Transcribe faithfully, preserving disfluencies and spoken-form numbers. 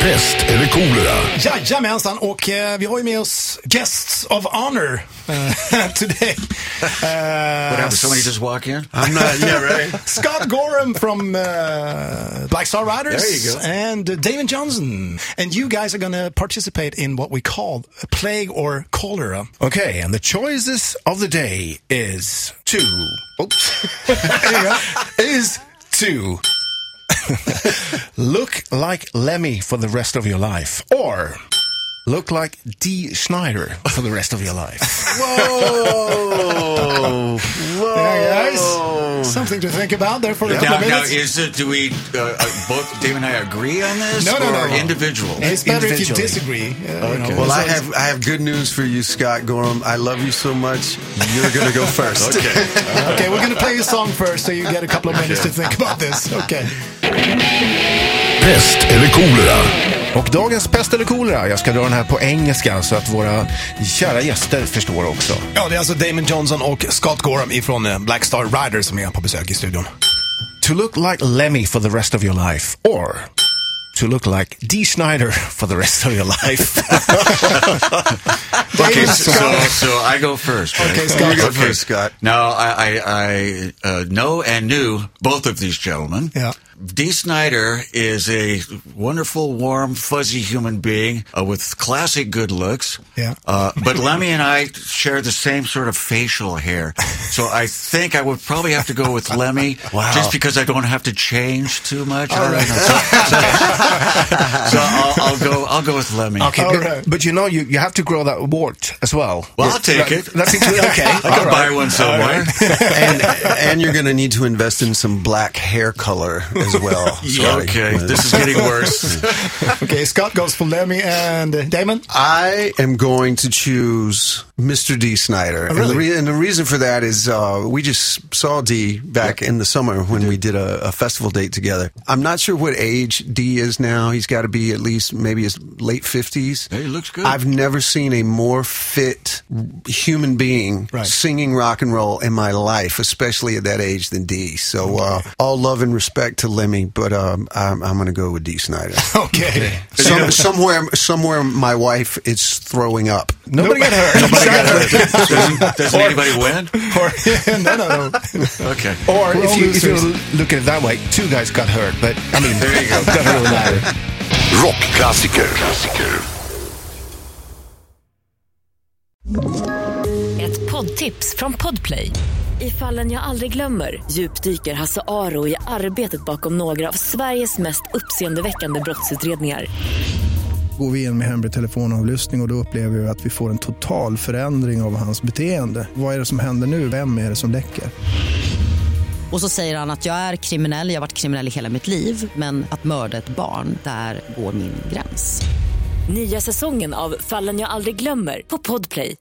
Pest eller kolera? Jajamensan, och uh, vi har ju med oss guests of honor uh, today. Uh, What happened? Somebody just walk in? I'm not, yeah, right. Scott Gorham from uh, Black Star Riders. There you go. And uh, Damon Johnson. And you guys are going to participate in what we call a plague or cholera. Okay, and the choices of the day is to... Oops. is to... look like Lemmy for the rest of your life, or look like Dee Snider for the rest of your life. Whoa! Whoa! Yeah, guys. Something to think about there for a couple Now, of now, minutes. is it, do we, uh, uh, both Dave and I agree on this? No, no, or no, no. individual? It's better if you Individually. disagree. Uh, you Okay. know, Well, I so- have I have good news for you, Scott Gorham. I love you so much. You're going to go first. Okay. Okay, we're going to play a song first so you get a couple of minutes to think about this. Okay. Pest eller kolera? Och dagens pest eller kolera, jag ska dra den här på engelska så att våra kära gäster förstår också. Ja, det är alltså Damon Johnson och Scott Gorham ifrån eh, Black Star Riders som är på besök i studion. To look like Lemmy for the rest of your life, or to look like Dee Snider for the rest of your life. Okay, so, so I go first. Right? Okay, Scott. You go first, Scott. Now, I, I, I uh, know and knew both of these gentlemen. Yeah. Dee Snider is a wonderful, warm, fuzzy human being uh, with classic good looks. Yeah. Uh, but Lemmy and I share the same sort of facial hair. So I think I would probably have to go with Lemmy Wow. just because I don't have to change too much. All right. So, so, so I'll, I'll go I'll go with Lemmy. Okay, All but, right. but you know, you, you have to grow that wart as well. Well, I'll take That- it. That's included. Okay, I'll buy one somewhere. and and you're going to need to invest in some black hair color as well. Scotty. Okay, this is getting worse. Okay, Scott goes for Lemmy and uh, Damon. I am going to choose Mister Dee Snider. Oh, really? and, the re- and the reason for that is uh, we just saw Dee back in the summer when we did a, a festival date together. I'm not sure what age Dee is now. He's got to be at least maybe his late fifties. Hey, he looks good. I've never seen a more fit human being Right. singing rock and roll in my life, especially at that age, than Dee. So uh, all love and respect to Lemmy, but um, I'm, I'm going to go with Dee Snider. Okay. Some, somewhere, somewhere, my wife is throwing up. Nobody got hurt. Nobody got hurt. Doesn't, doesn't anybody win? Or, no, no, no. Okay. Or We're if all you, if you losers. look at it that way, two guys got hurt, but I mean, There you go. it doesn't really matter. Rockklassiker. Klassiker. Ett poddtips från Podplay. I Fallen jag aldrig glömmer djupdyker Hasse Aro i arbetet bakom några av Sveriges mest uppseendeväckande brottsutredningar. Går vi in med hemlig telefonavlyssning och, och då upplever vi att vi får en total förändring av hans beteende. Vad är det som händer nu? Vem är det som läcker? Och så säger han att jag är kriminell, jag har varit kriminell i hela mitt liv. Men att mörda ett barn, där går min gräns. Nya säsongen av Fallen jag aldrig glömmer på Podplay.